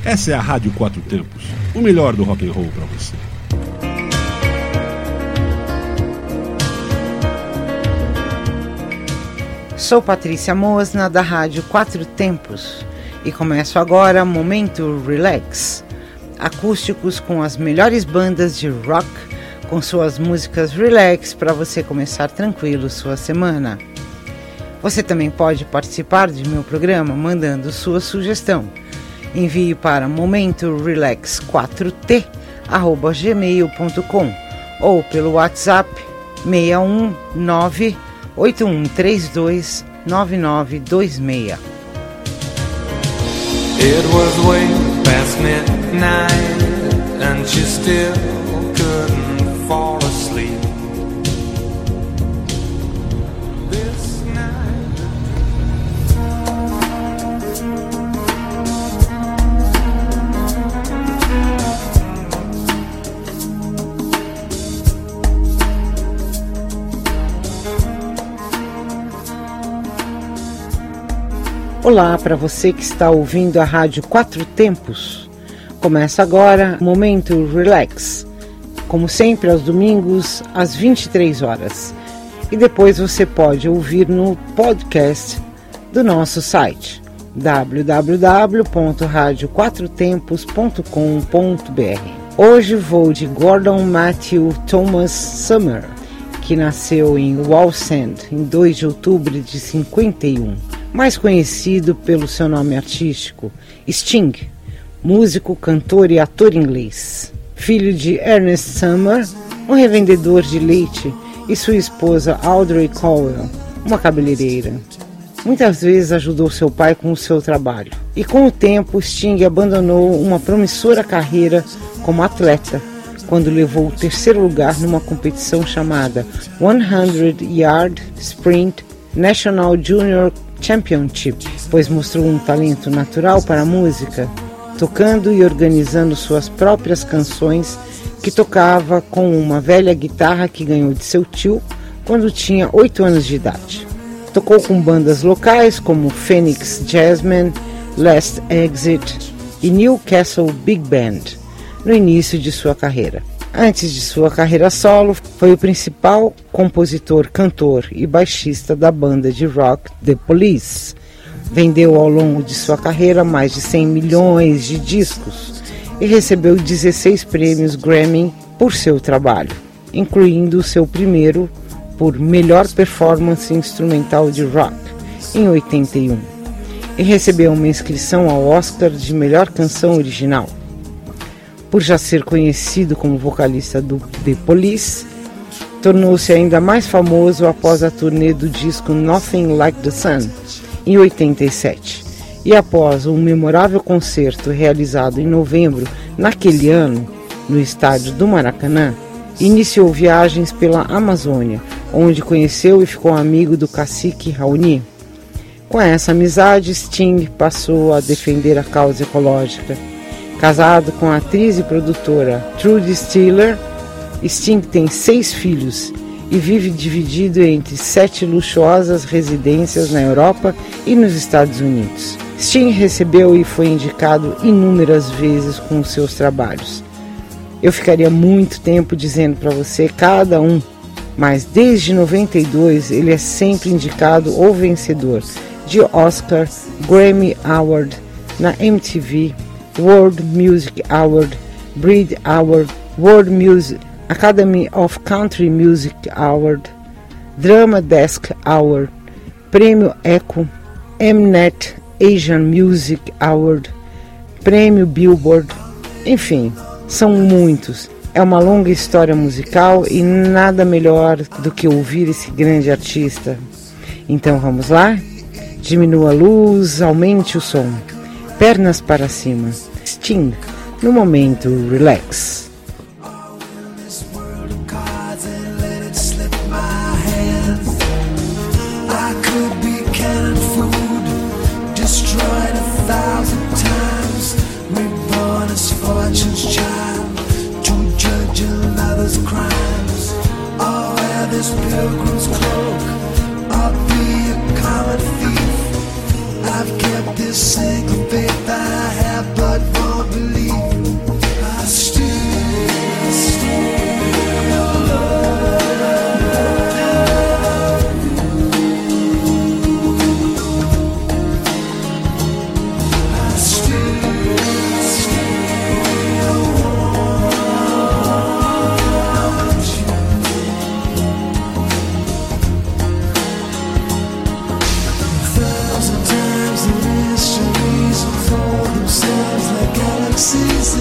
Essa é a Rádio Quatro Tempos, o melhor do rock and roll para você. Sou Patrícia Mosna, da Rádio Quatro Tempos, e começo agora Momento Relax, acústicos com as melhores bandas de rock, com suas músicas relax para você começar tranquilo sua semana. Você também pode participar de meu programa mandando sua sugestão. Envie para momentorelax4t@gmail.com ou pelo WhatsApp 619-8132-9926. It was way past midnight and she still couldn't fall asleep. This night. Olá para você que está ouvindo a Rádio Quatro Tempos. Começa agora Momento Relax, como sempre aos domingos às 23 horas. E depois você pode ouvir no podcast do nosso site www.radioquatrotempos.com.br. Hoje vou de Gordon Matthew Thomas Summer, que nasceu em Wallsend em 2 de outubro de 51. Mais conhecido pelo seu nome artístico, Sting, músico, cantor e ator inglês. Filho de Ernest Summer, um revendedor de leite, e sua esposa Audrey Cowell, uma cabeleireira. Muitas vezes ajudou seu pai com o seu trabalho. E com o tempo, Sting abandonou uma promissora carreira como atleta, quando levou o 3º lugar numa competição chamada 100 Yard Sprint National Junior Championship, pois mostrou um talento natural para a música, tocando e organizando suas próprias canções, que tocava com uma velha guitarra que ganhou de seu tio quando tinha 8 anos de idade. Tocou com bandas locais como Phoenix Jazzmen, Last Exit e Newcastle Big Band no início de sua carreira. Antes de sua carreira solo, foi o principal compositor, cantor e baixista da banda de rock The Police. Vendeu ao longo de sua carreira mais de 100 milhões de discos e recebeu 16 prêmios Grammy por seu trabalho, incluindo o seu primeiro por melhor performance instrumental de rock, em 81, e recebeu uma inscrição ao Oscar de melhor canção original. Por já ser conhecido como vocalista do The Police, tornou-se ainda mais famoso após a turnê do disco Nothing Like the Sun, em 87, e após um memorável concerto realizado em novembro naquele ano, no estádio do Maracanã, iniciou viagens pela Amazônia, onde conheceu e ficou amigo do cacique Raoni. Com essa amizade, Sting passou a defender a causa ecológica. Casado com a atriz e produtora Trudy Stiller, Sting tem 6 filhos e vive dividido entre 7 luxuosas residências na Europa e nos Estados Unidos. Sting recebeu e foi indicado inúmeras vezes com seus trabalhos. Eu ficaria muito tempo dizendo para você cada um, mas desde 92 ele é sempre indicado ou vencedor de Oscar, Grammy Award, na MTV, World Music Award, Brit Award, World Music Academy of Country Music Award, Drama Desk Award, Prêmio Echo, Mnet Asian Music Award, Prêmio Billboard, enfim, são muitos. É uma longa história musical e nada melhor do que ouvir esse grande artista. Então vamos lá? Diminua a luz, aumente o som. Pernas para cima. Sting, no Momento Relax. Pilgrim's cloak, I'll be a common thief. I've kept this single faith I have but for belief. I still seas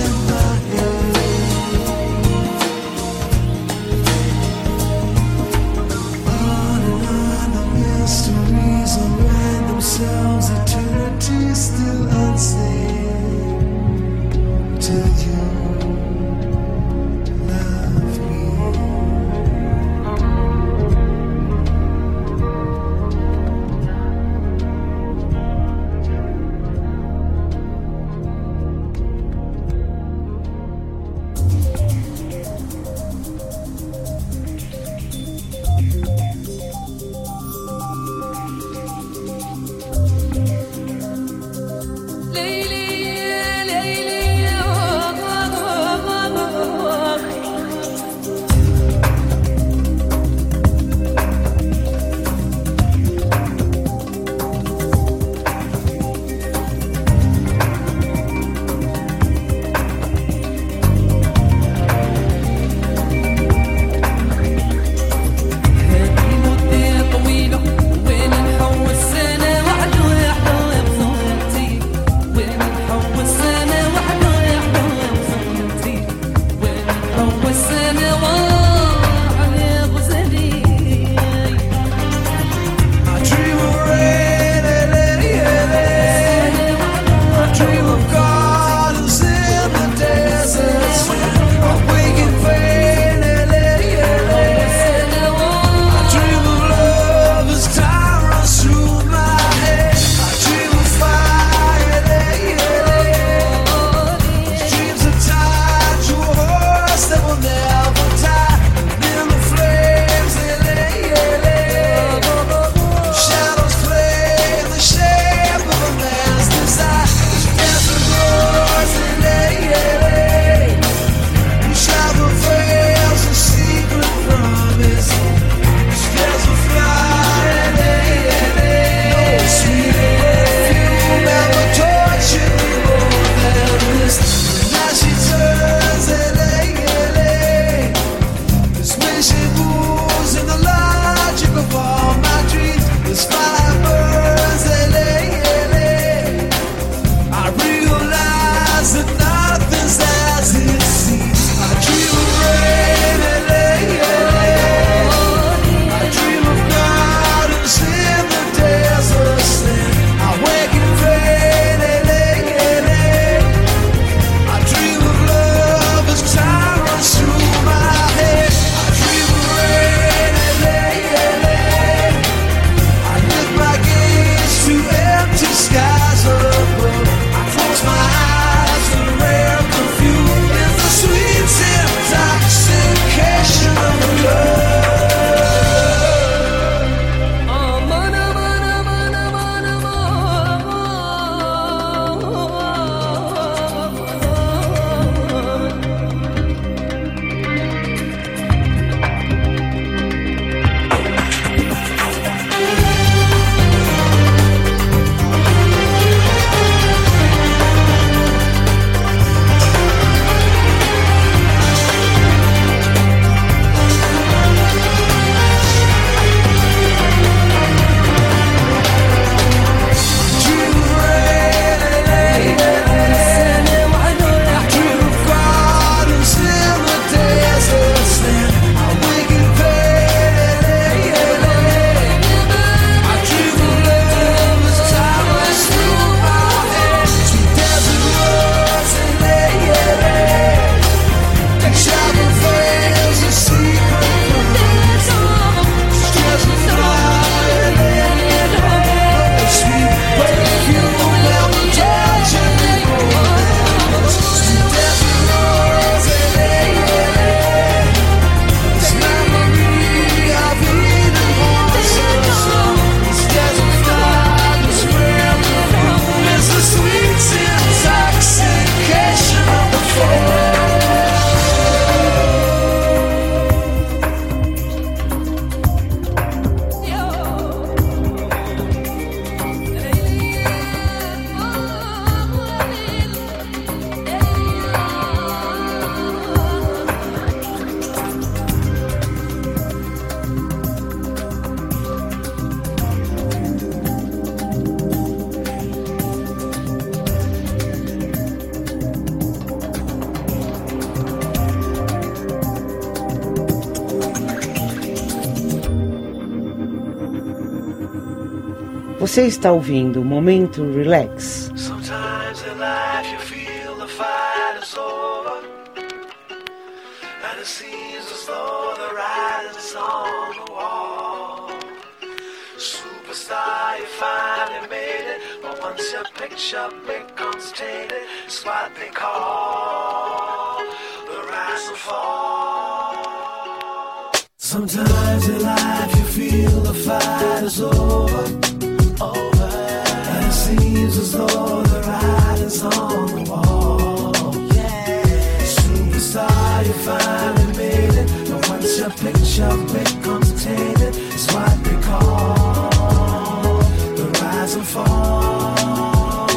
Você está ouvindo o Momento Relax. Sometimes in life you feel the fight is over, and it seems as though the writing's on the wall. Superstar, you finally made it, but once your picture becomes tainted, it's what they call the rise and fall. Sometimes in life you feel the fight is over, and it seems as though the writing's on the wall. Superstar, you finally made it, but once your picture becomes tainted, it's what they call the rise and fall.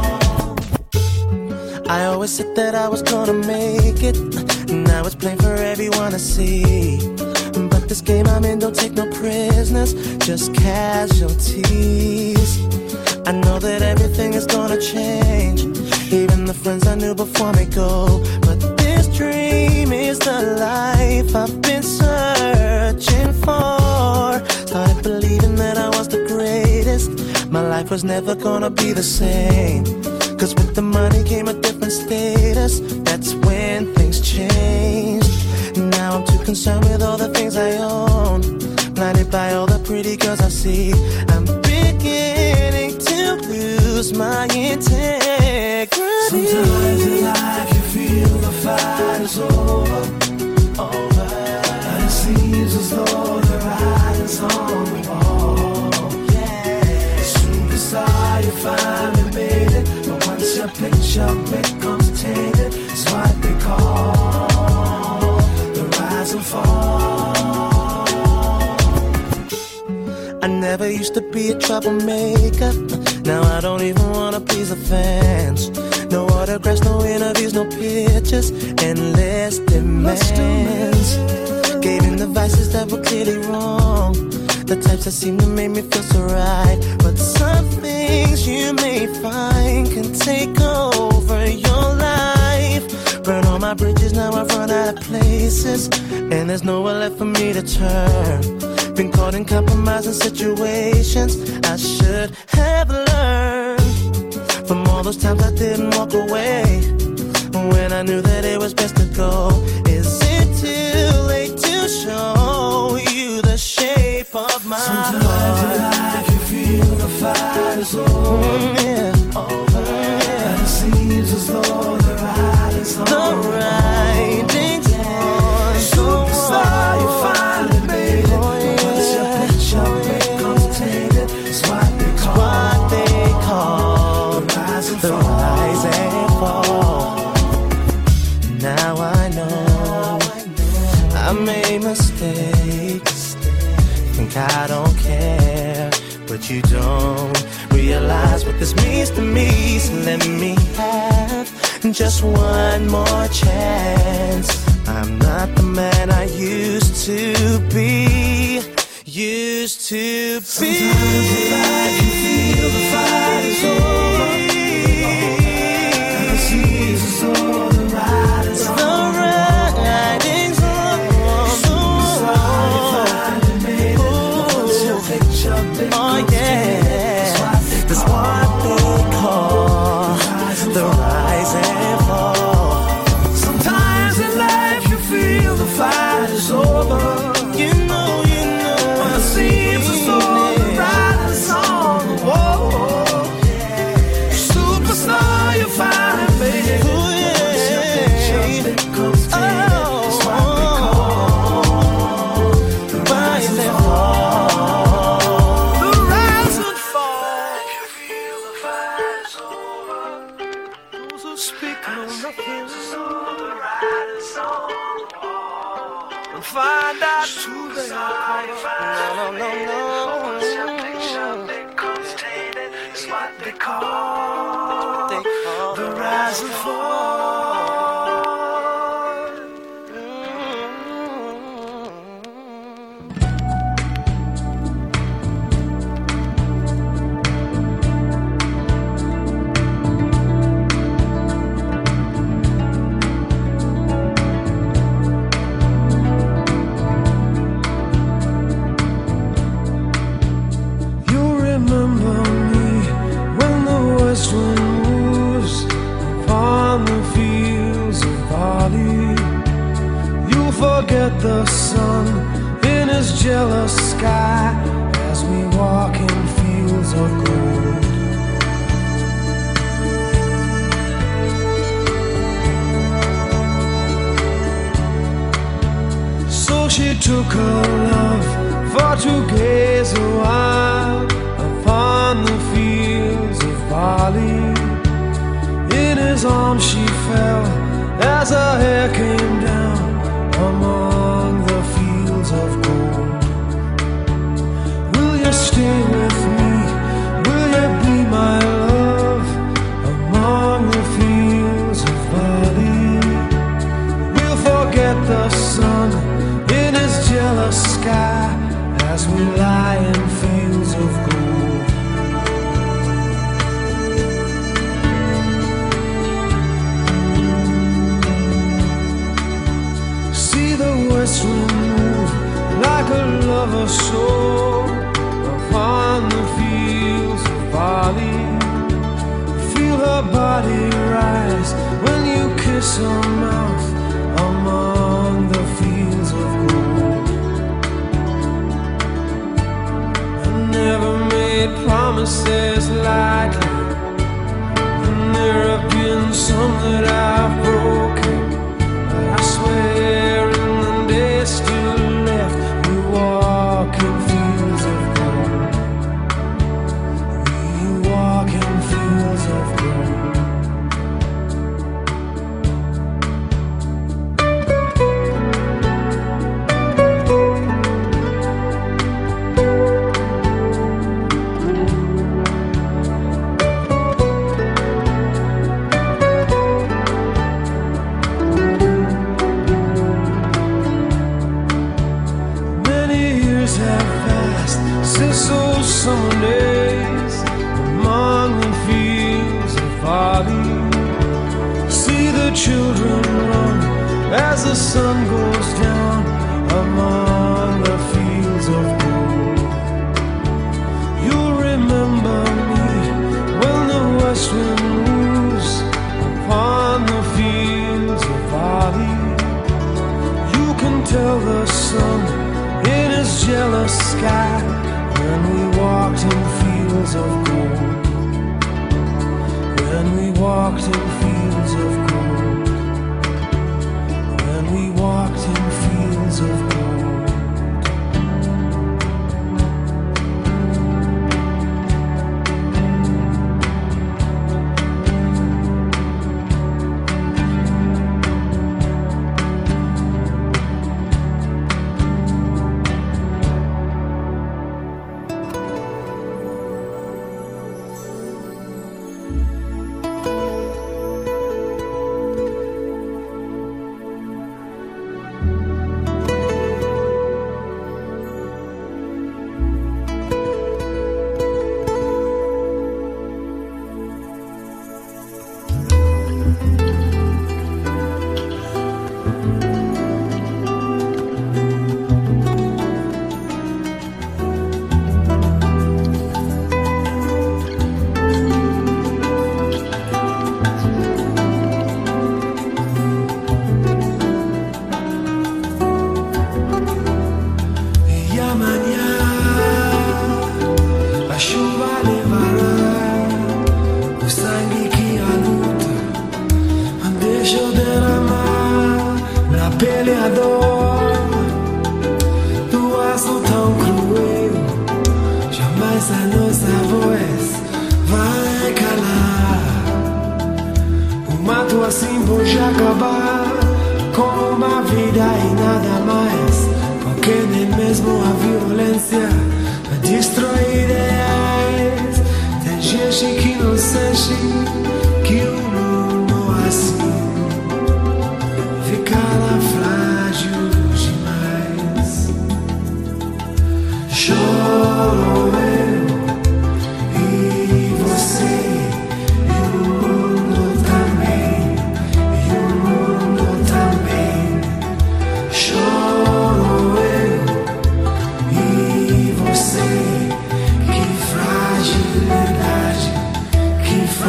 I always said that I was gonna make it, now it's plain for everyone to see. But this game I'm in don't take no prisoners, just casualties. I know that everything is gonna change, even the friends I knew before me go. But this dream is the life I've been searching for. Started believing that I was the greatest, my life was never gonna be the same. Cause with the money came a different status, that's when things changed. Now I'm too concerned with all the things I own, blinded by all the pretty girls I see. I'm beginning to lose my integrity. Sometimes in life you feel the fight is over, and it seems as though the writing's on the wall. Superstar, you finally made it, but once your picture becomes tainted, it's what they call the rise and fall. I never used to be a troublemaker, now I don't even wanna please the fans. No autographs, no interviews, no pictures, endless demands. Gave in the vices that were clearly wrong, the types that seem to make me feel so right. But some things you may find can take over your life. Burn all my bridges, now I've run out of places, and there's nowhere left for me to turn. Been caught in compromising situations I should have learned from all those times I didn't walk away when I knew that it was best to go. Is it too late to show you the shape of my heart? Sometimes in life you feel the fight is over, and it seems as though the writing's on the writing's on. Superstar, you finally made it, but once your picture becomes tainted, it's what they call the rise and fall. Now I know I made mistakes, think I don't care, but you don't realize what this means to me. So let me have just one more chance. I'm not the man I used to be. Sometimes in life you feel the fight is over, and it seems as though the writing's on the wall. Superstar, you finally made it, but once your picture becomes tainted, that's what they call the rise and fall. Sometimes in life you feel the fight is over, you know, and it seems as though the writing's on the wall. Superstar, you finally made it, but once your picture becomes tainted, it's what they call the rise and fall. The rise and fall. You feel the fight is over, those who speak know nothing, so the writing's on the wall. And find out who they are. No. Once your picture becomes tainted, it's what they call the rise and fall. You remember forget the sun in his jealous sky as we walk in fields of gold. So she took her love for to gaze a while upon the fields of barley. In his arms she fell as her hair came down among the fields of gold. Will you stay with me? Will you be my love among the fields of barley? We'll forget the sun in his jealous sky as we lie in fields of gold. See the west wind move like a lover's soul upon the fields of barley. Feel her body rise when you kiss her mouth among the fields of gold. I never made promises lightly, and there have been some that I've broken, but I swear in the days still left we walk in fields of gold. We walk in fields of gold. Since those summer days among the fields of barley, see the children run as the sun goes down among the fields of gold. You'll remember me when the west wind moves upon the fields of barley. You can tell the sun in his jealous sky when we walked in fields of gold. When we walked in fields of gold. When we walked in fields of gold. Assim pode acabar com uma vida e nada mais, porque nem mesmo a violência destrói ideias. Tem gente que não sente que o mundo assim fica lá frágil demais. Choro eu e você. Que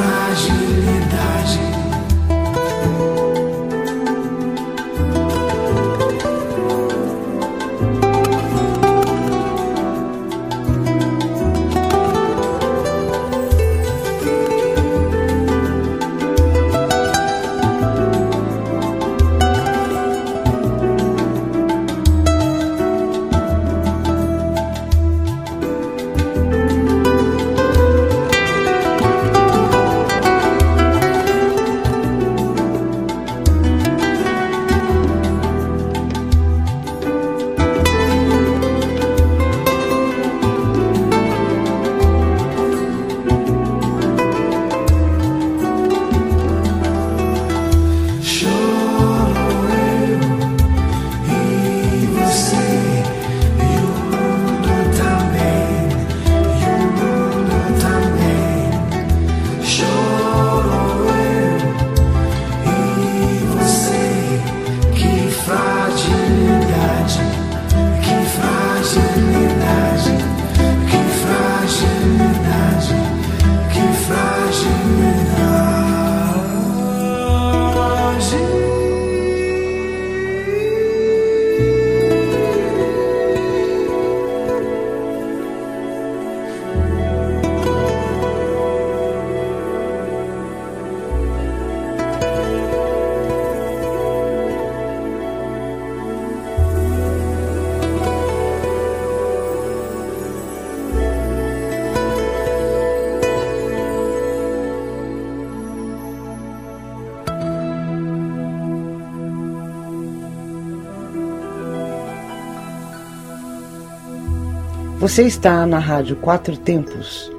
Você está na Rádio Quatro Tempos.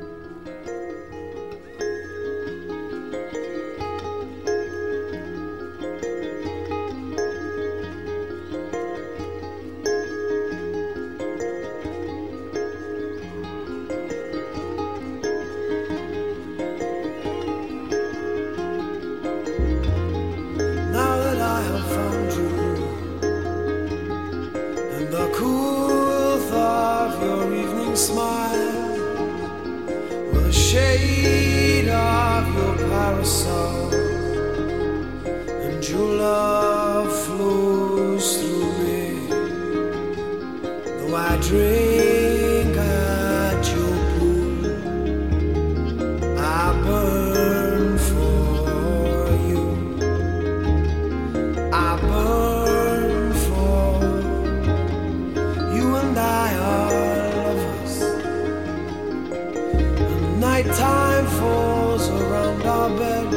Nighttime falls around our bed.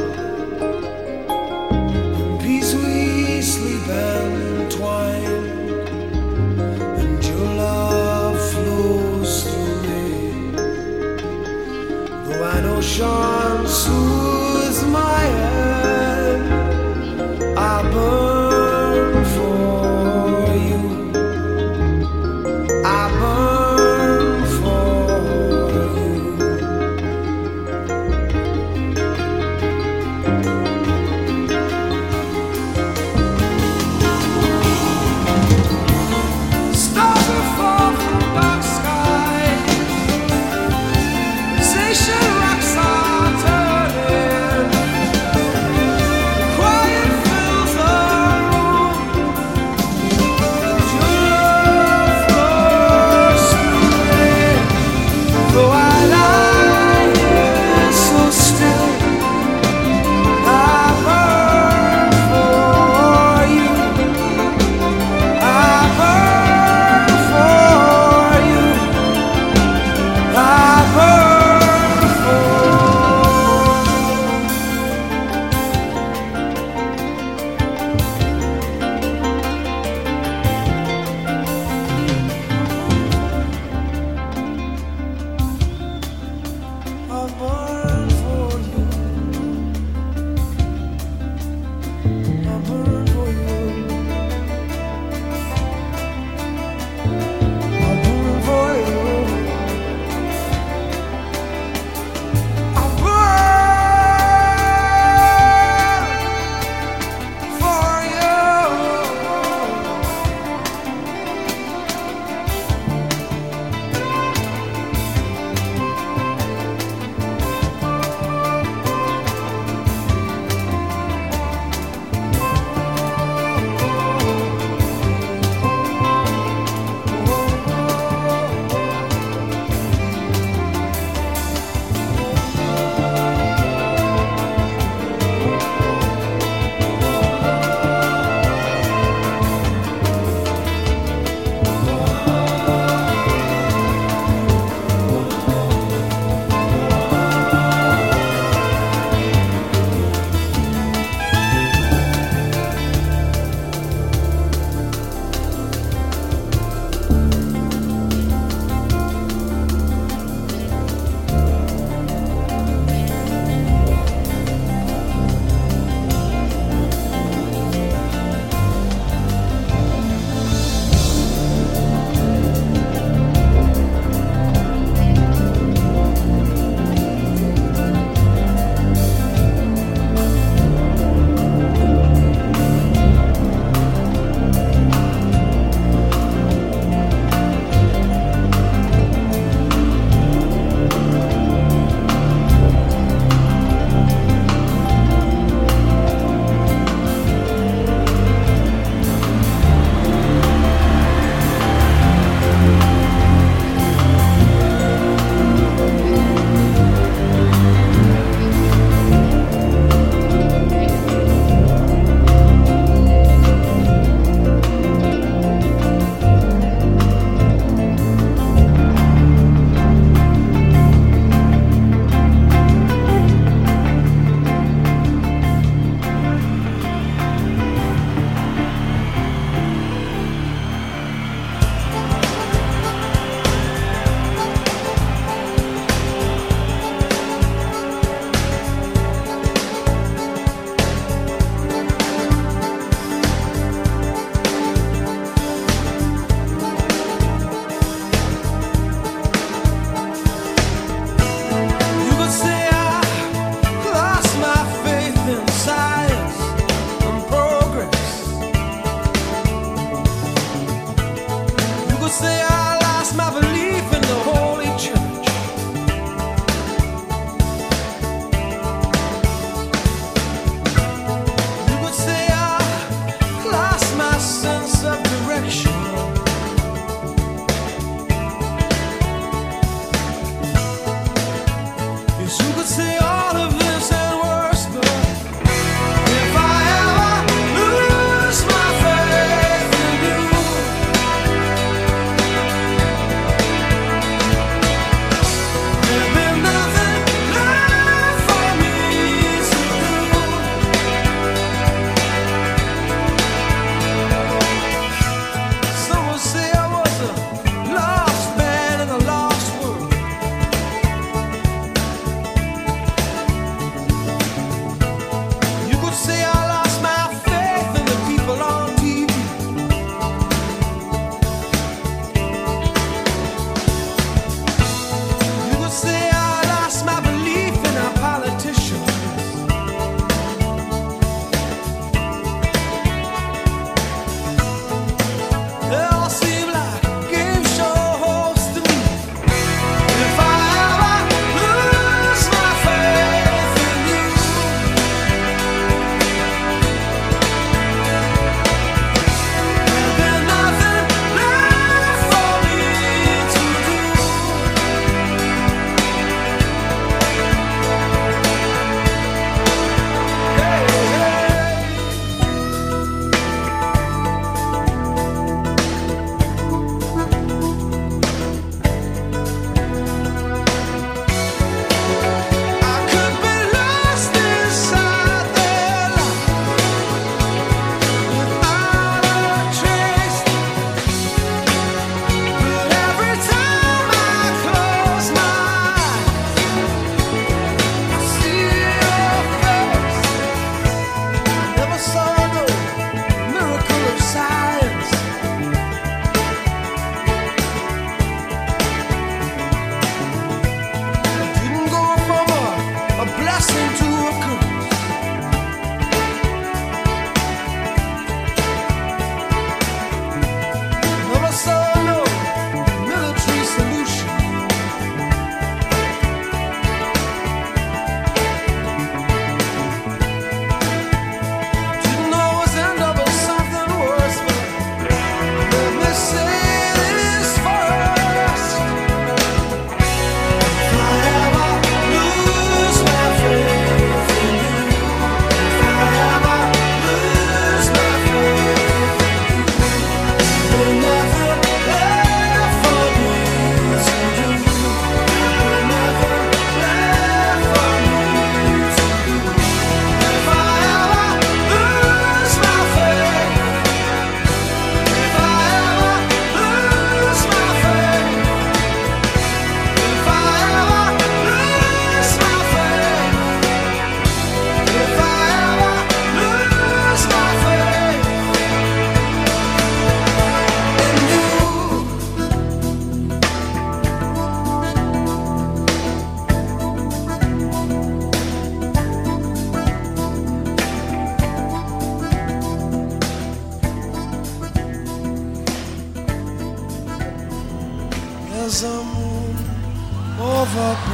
In peace we sleep entwined, and your love flows through me. The wide ocean soothes my head. I burn for you. I burn for you.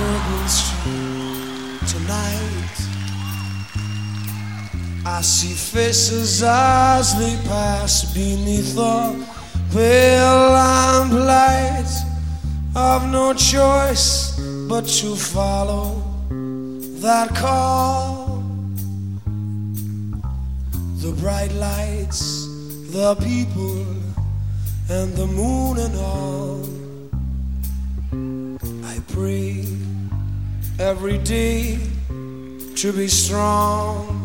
Bourbon Street tonight. I see faces as they pass beneath the pale lamplight. I've no choice but to follow that call. The bright lights, the people, and the moon and all. I pray every day to be strong,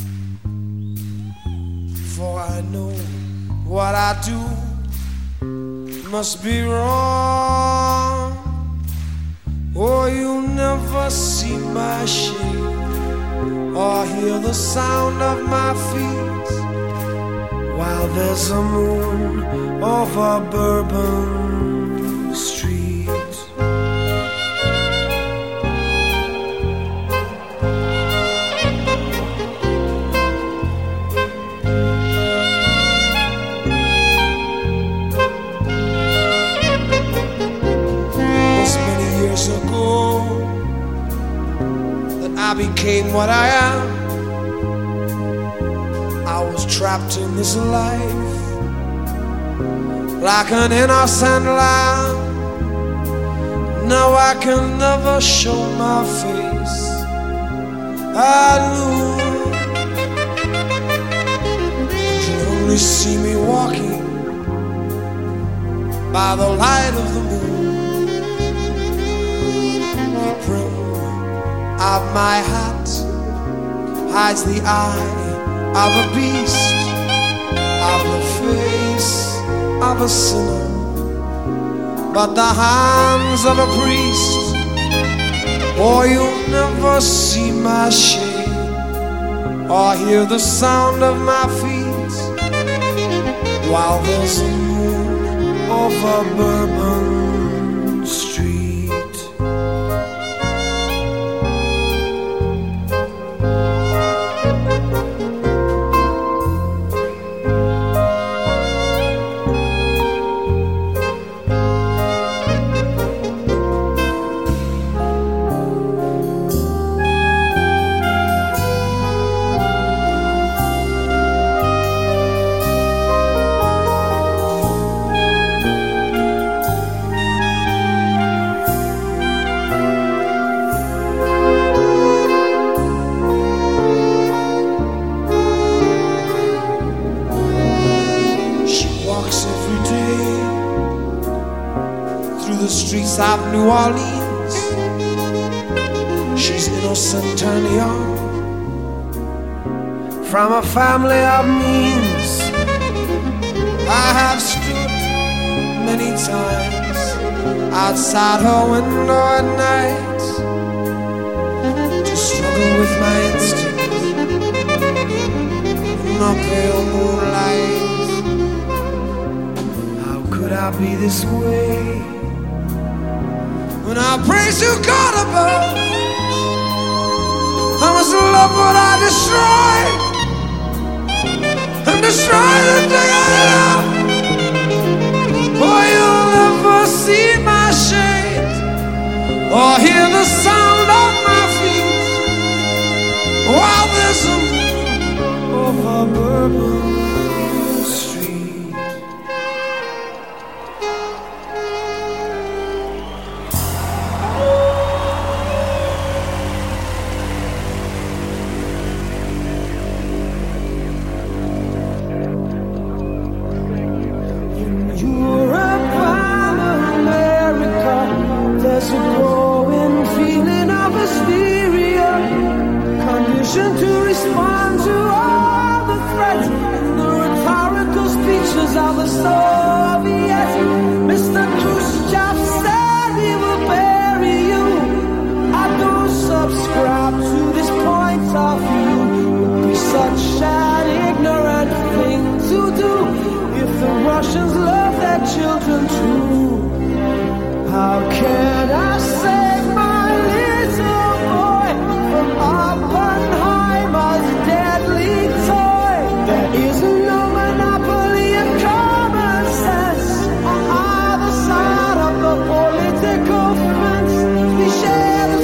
for I know what I do must be wrong. Oh, you'll never see my shade or hear the sound of my feet while there's a moon over Bourbon Street. I became what I am. I was trapped in this life like an innocent lamb. Now I can never show my face at noon. You only see me walking by the light of the moon. The brim of my hat hides the eye of a beast, of the face of a sinner, but the hands of a priest. Oh, you'll never see my shade or hear the sound of my feet while there's a moon over Bourbon Street. Of New Orleans, she's innocent and young, from a family of means. I have stood many times outside her window at night to struggle with my instincts in the pale moonlight. How could I be this way when I praise to God above? How much love would I destroy and destroy the thing I love? For you'll never see my shade or hear the sound of my feet while there's a moon over Bourbon Street. To respond to all the threats and the rhetorical speeches of the Soviets. Mr. Khrushchev said he will bury you. I don't subscribe to this point of view. It would be such an ignorant thing to do if the Russians love their children too. How can I save my little boy from Oppenheimer's deadly toy? There is no monopoly of common sense on either side of the political fence. We share the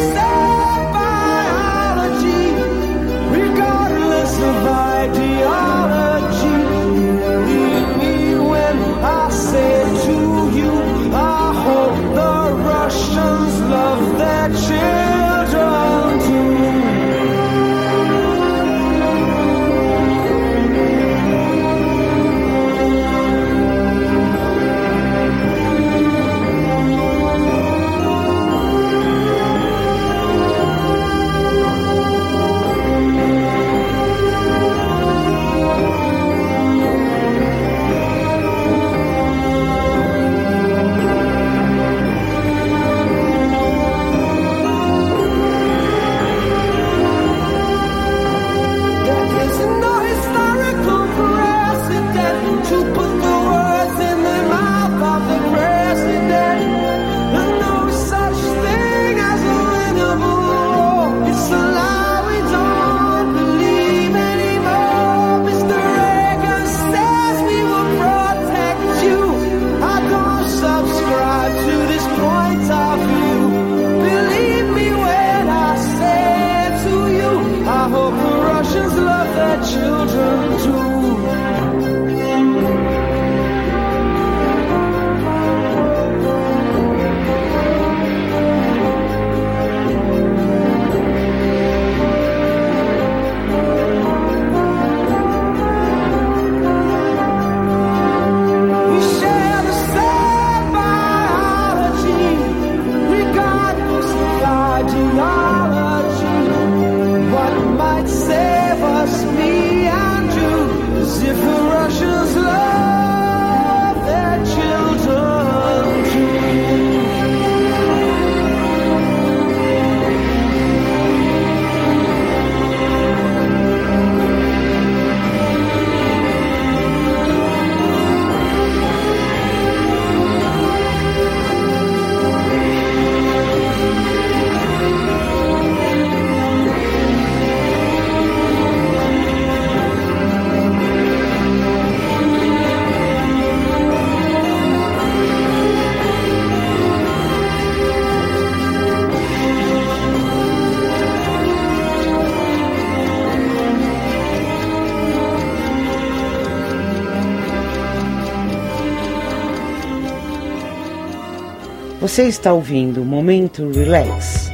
Você está ouvindo o Momento Relax.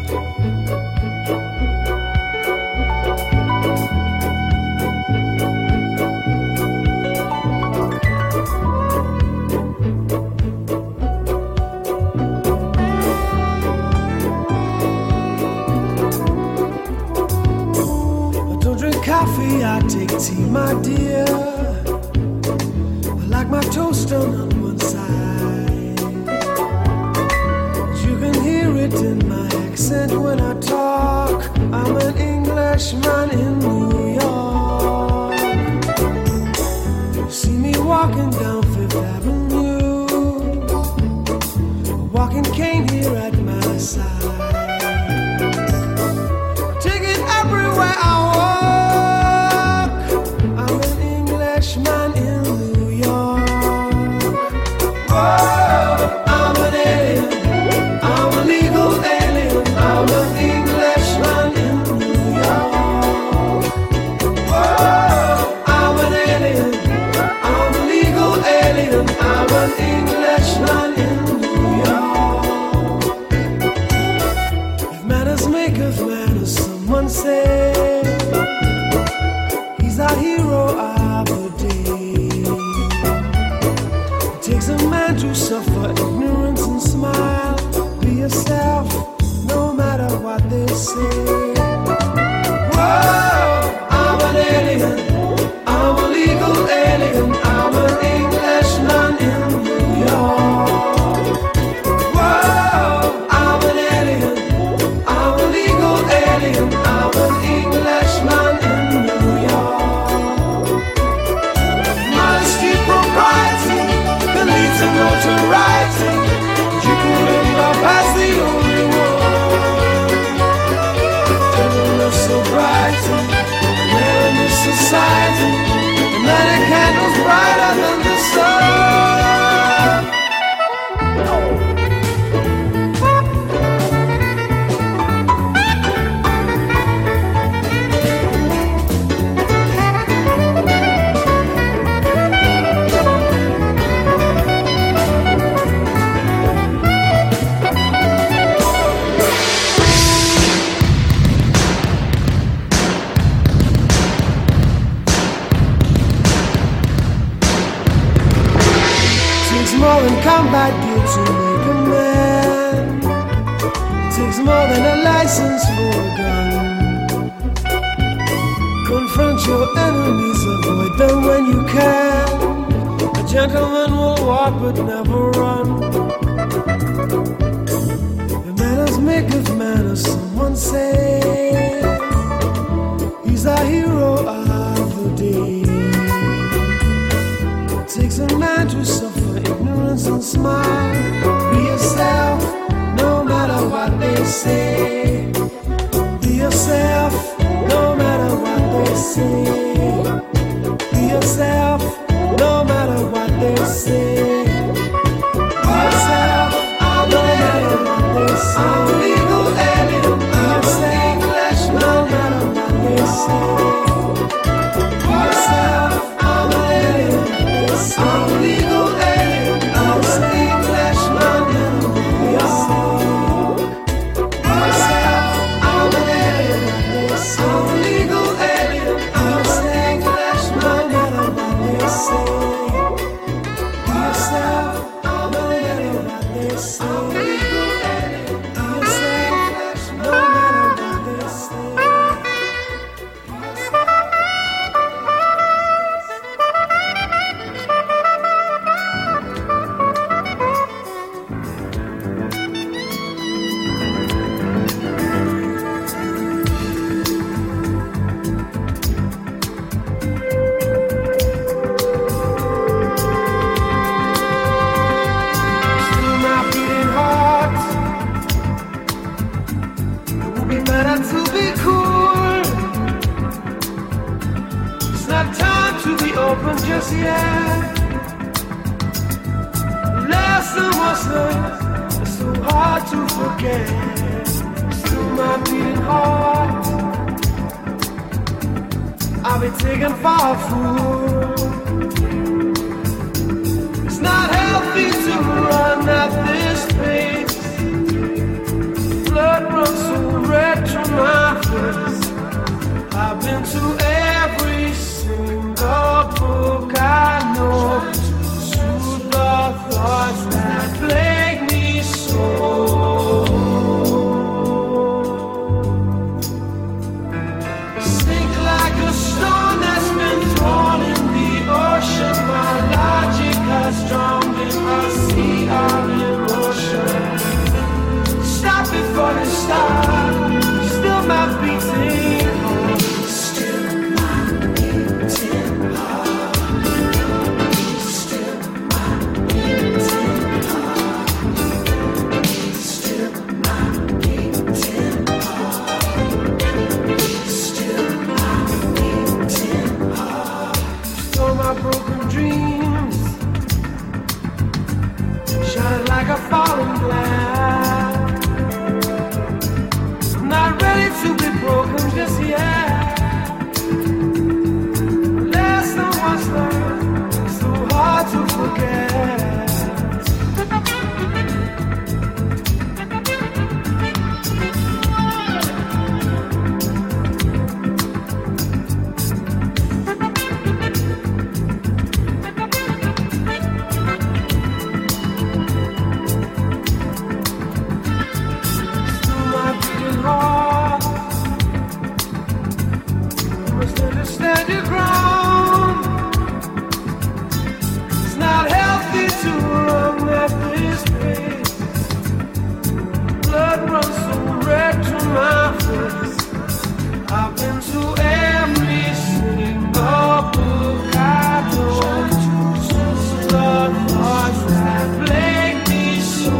I take tea, my dear. I like my toast on one side. You can hear it in my accent when I talk. I'm an Englishman in New York. You see me walking down Fifth Avenue, a walking cane here at my side. Take it everywhere I walk. Man in New York. Oh, I'm an alien. I'm a legal alien. I'm an Englishman in New York. Oh, I'm an alien. I'm a legal alien. I'm an Englishman in New York. If manners make of manners, someone say he's our hero. To suffer ignorance and smile. Be yourself, no matter what they say. Whoa, I'm an alien. I'm a legal alien. I'm an Englishman in New York. Whoa, I'm an alien. I'm a legal alien. I'm an Englishman in New York. Modesty, propriety, leads to notoriety. You can live up as the only one. Everyone so bright, and in this society, and many candles brighter than the sun. More than combat gear to make a man. Takes more than a license for a gun. Confront your enemies, avoid them when you can. A gentleman will walk but never run. The manners make of manners, someone say. He's our hero of the day. Takes a man to suffer ignorance and smile. Be yourself, no matter what they say. Be yourself, no matter what they say. Be yourself, no matter what they say. Be yourself, no matter what they say. I'm a legal alien. I'm an Englishman, no matter what they say. Be yourself, I'm an alien. I'm a legal alien. I'm an Englishman in New York. Myself, I'm an alien. I'm a legal alien. I'm an Englishman, no matter what they say. Myself, I'm an alien. I'm a legal alien. I'm an Englishman, no matter what they say. Just yet, lesson was learned. It's so hard to forget. Still my beating heart. I'll be taken for a fool. It's not healthy to run at this pace. been to every single book I know, soothe the thoughts that plague me so. Sink like a stone that's been thrown in the ocean. My logic has drowned in a sea of emotion. Stop before you start. Still my beating heart. Still my beating heart. Still my beating heart. Still my beating heart. Still my beating heart. Stole my broken dreams, shining like a falling glass. Not ready to be broken just yet. Lesson was learned, so hard to forget. Still my beating heart. You must understand your ground. It's not healthy to run at this pace. Blood runs so red to my face. I've been to every single book I know. The thoughts that plague me so.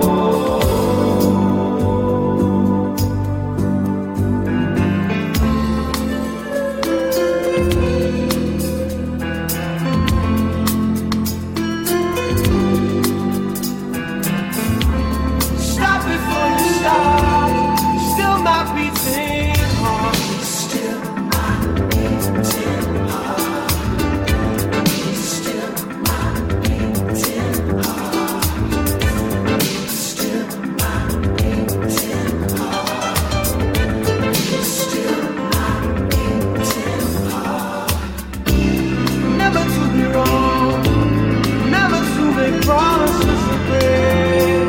Stop before you start. Still my beating heart. Still my beating heart. Still my beating heart. Still my beating heart. Still my beating heart. Never to be wrong. Never to make promises to break.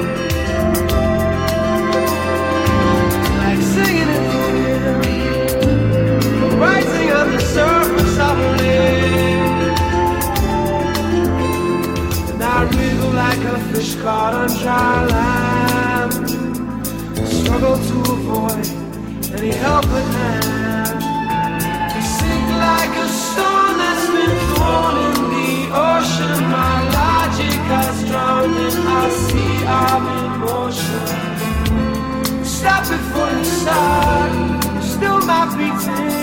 Like singing in the wind, rising on the surface of a lake. And I wriggle like a fish caught on dry land. Struggle to avoid any help at hand. Sink like a stone that's been thrown in the ocean. My logic has drowned in a sea of emotion. Stop before you start. Still my beating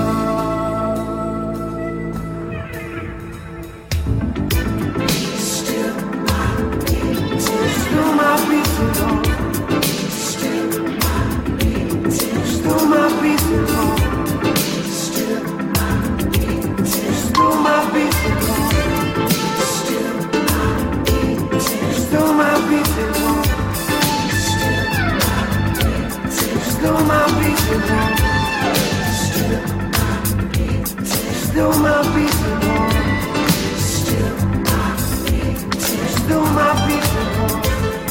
heart. Still my beating. Still my beating heart. Still my beating. Still my beating heart. Still my beating. Still my beating heart. Still my beating. Still my beating heart. Still my beating heart. Still my beating heart. Still my beating heart.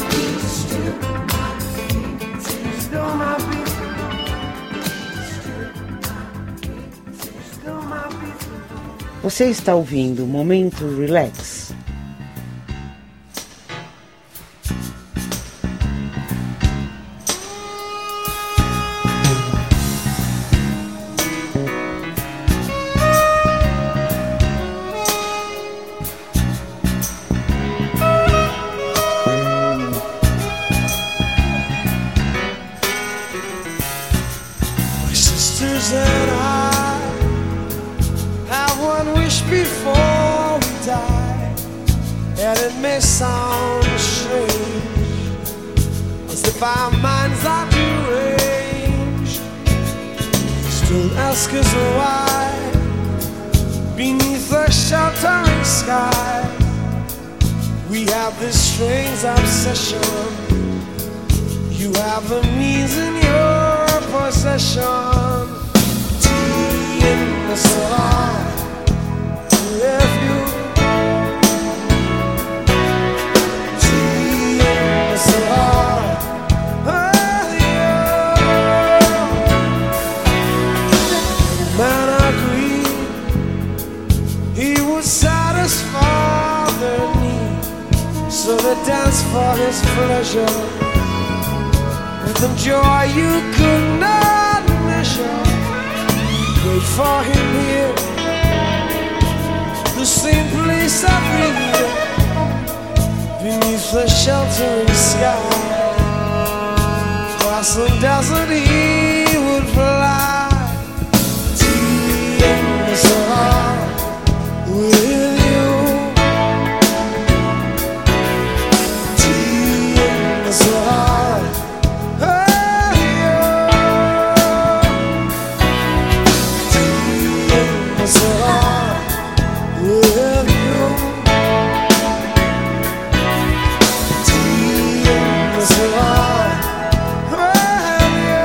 Still my beating heart. Still my beating heart. Você está ouvindo o Momento Relax. My sisters and I have one wish before we die, and it may sound strange, as if our minds are deranged. Still ask us why, beneath the sheltering sky, we have this strange obsession. You have the means in your possession. Seeing so hard with you. Seeing so hard with you. The man agreed he would satisfy their need, so they danced for his pleasure with the joy you could not measure. Wait for him here, the same place every year, beneath the sheltering sky. Across the desert he would fly. Teeing so hard with you. Teeing so hard. So hard with you. Teeing so hard with you.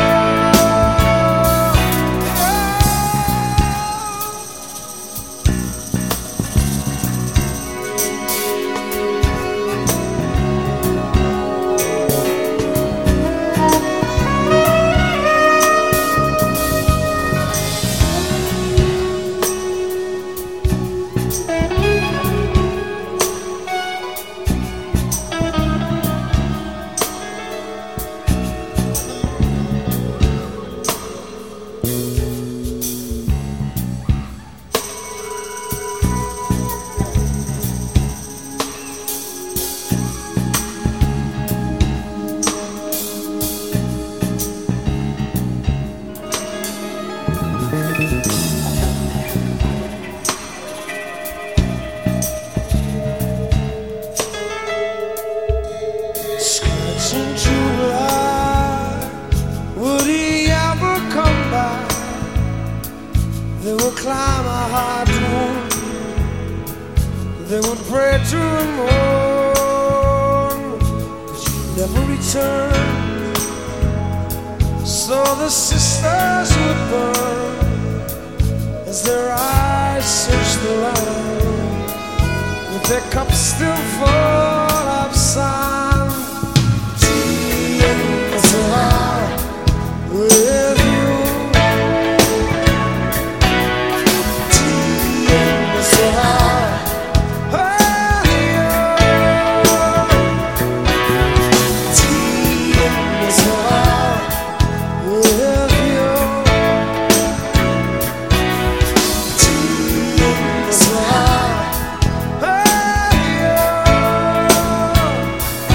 Scratching July, would he ever come back? They would climb a high dome, they would pray to the moon, but you never returned. So the sisters would burn as their eyes searched the land, with their cups still full of sand. Teeing so hard with you. Teeing so hard with you. Teeing so hard with you. Teeing so hard with you.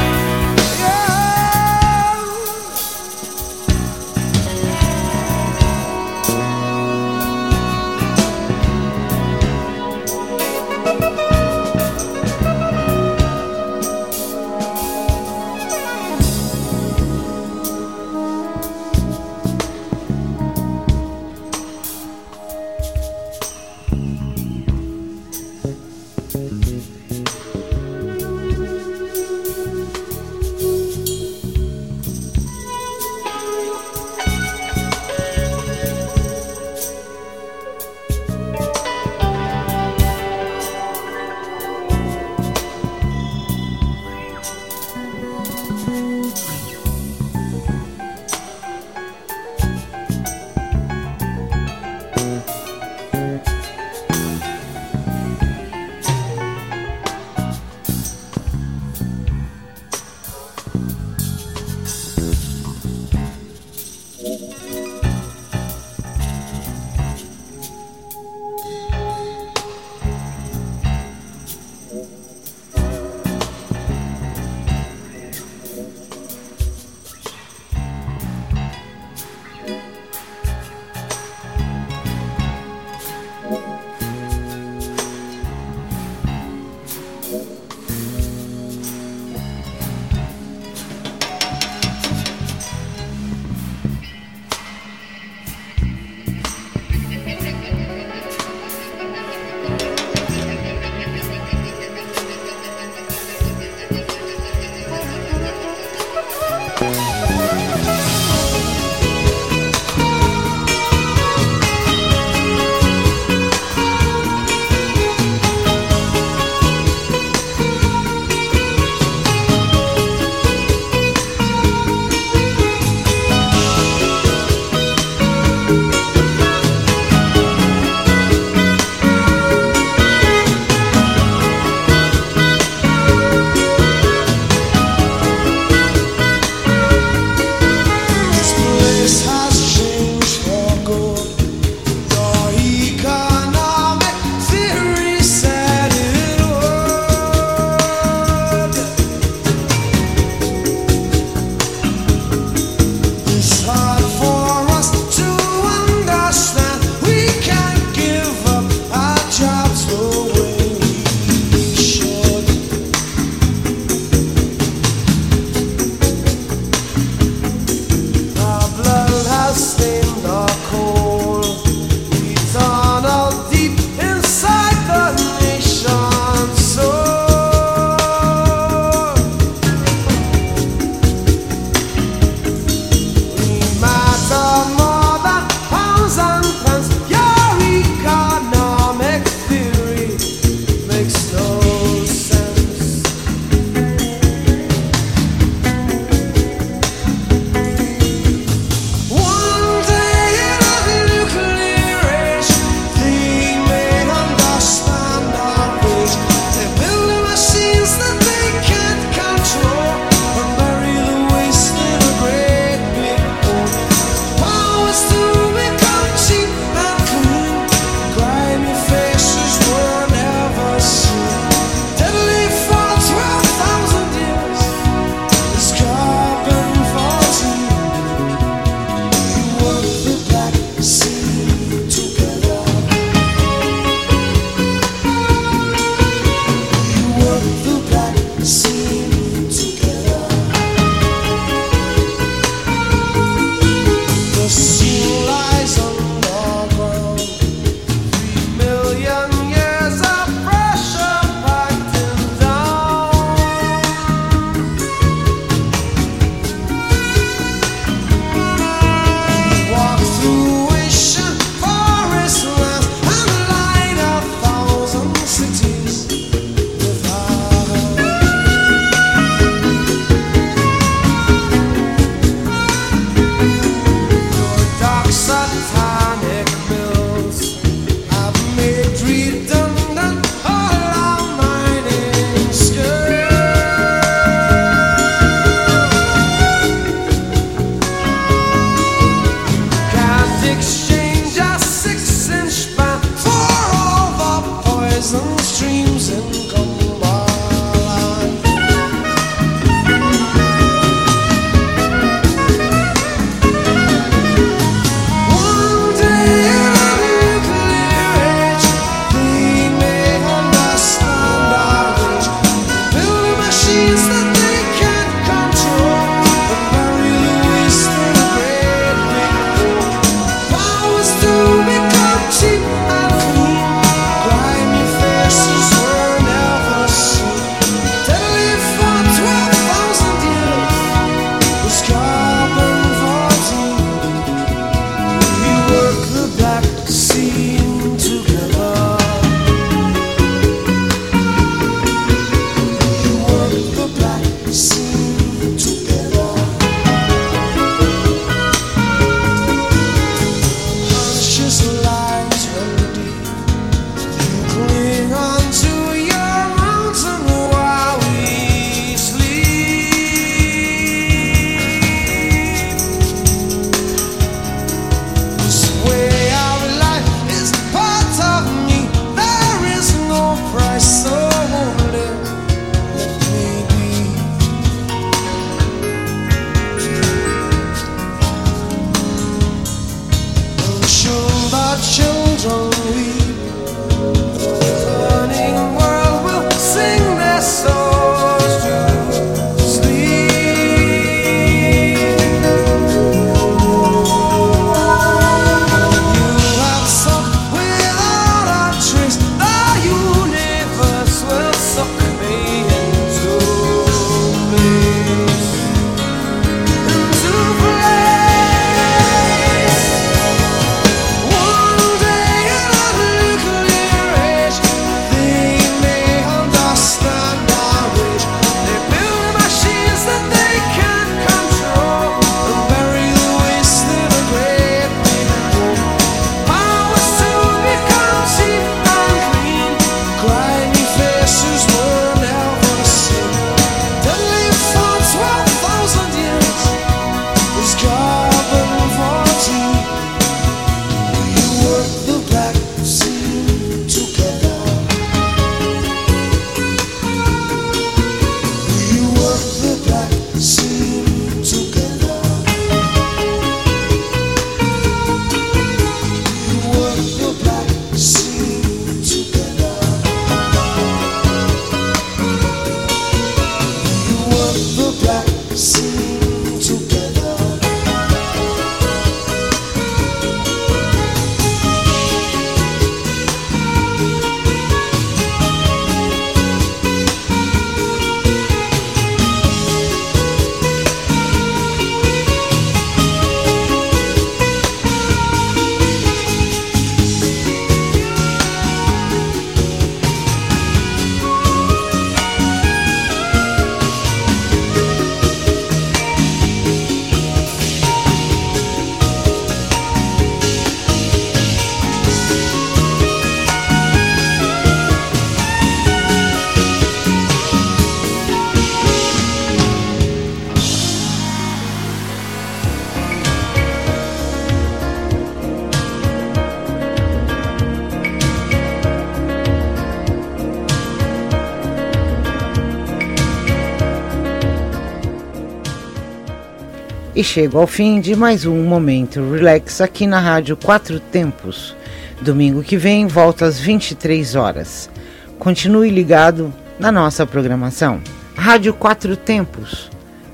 E chego ao fim de mais um Momento Relax aqui na Rádio Quatro Tempos. Domingo que vem, volta às 23 horas. Continue ligado na nossa programação. Rádio Quatro Tempos,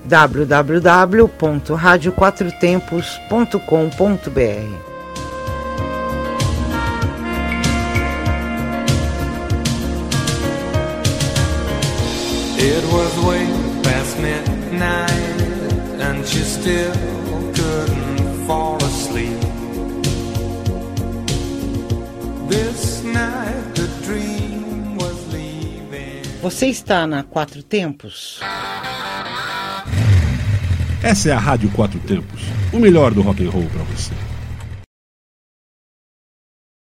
www.radioquatrotempos.com.br. It was way past midnight and she still couldn't fall asleep. This night the dream was leaving. Você está na Quatro Tempos? Essa é a Rádio Quatro Tempos, o melhor do rock and roll para você.